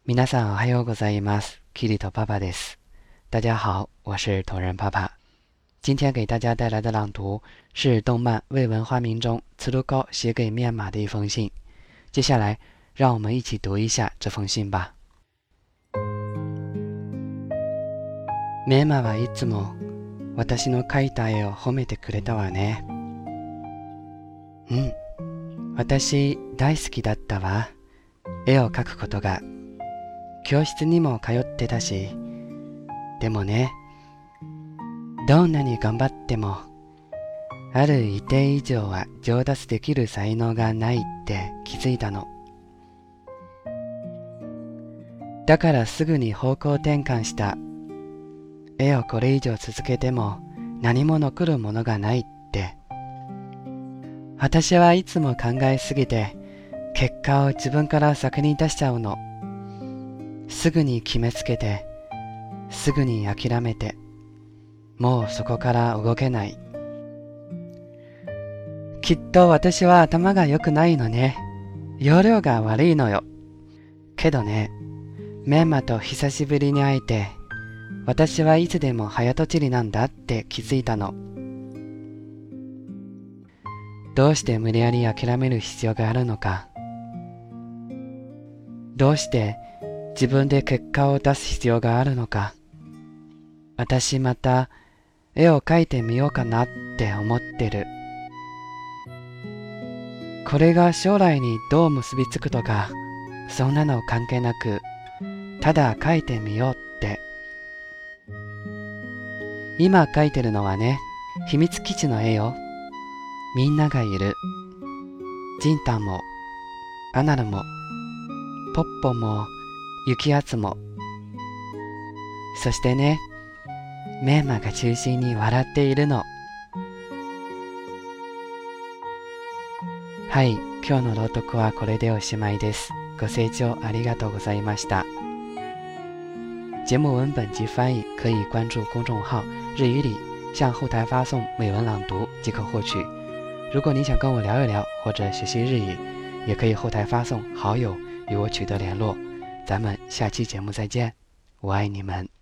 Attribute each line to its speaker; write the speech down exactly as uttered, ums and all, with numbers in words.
Speaker 1: 皆さんおはようございます。キリト爸爸です。大家好，我是同人爸爸。今天给大家带来的朗读是动漫《未闻花名》中次郎高写给面马的一封信。接下来，让我们一起读一下这封信吧。面馬はいつも私の描いた絵を褒めてくれたわね。うん、私大好きだったわ。絵を描くことが。教室にも通ってたし、でもね、どんなに頑張っても、ある一定以上は上達できる才能がないって気づいたの。だからすぐに方向転換した。絵をこれ以上続けても何も残るものがないって。私はいつも考えすぎて、結果を自分から先に出しちゃうの。すぐに決めつけて、すぐに諦めて、もうそこから動けない。きっと私は頭が良くないのね。容量が悪いのよ。けどね、メンマと久しぶりに会えて、私はいつでも早とちりなんだって気づいたの。どうして無理やり諦める必要があるのか。どうして自分で結果を出す必要があるのか。私また絵を描いてみようかなって思ってる。これが将来にどう結びつくとか、そんなの関係なく、ただ描いてみようって。今描いてるのはね、秘密基地の絵よ。みんながいる。ジンタンも、アナルも、ポッポも、雪圧も。そしてね、メンマが中心に笑っているの。はい、今日の朗読はこれでおしまいです。ご清聴ありがとうございました。节目文本及翻译可以关注公众号“日语里”，向后台发送美文朗读即可获取。如果你想跟我聊一聊或者学习日语，也可以后台发送好友与我取得联络。咱们下期节目再见，我爱你们。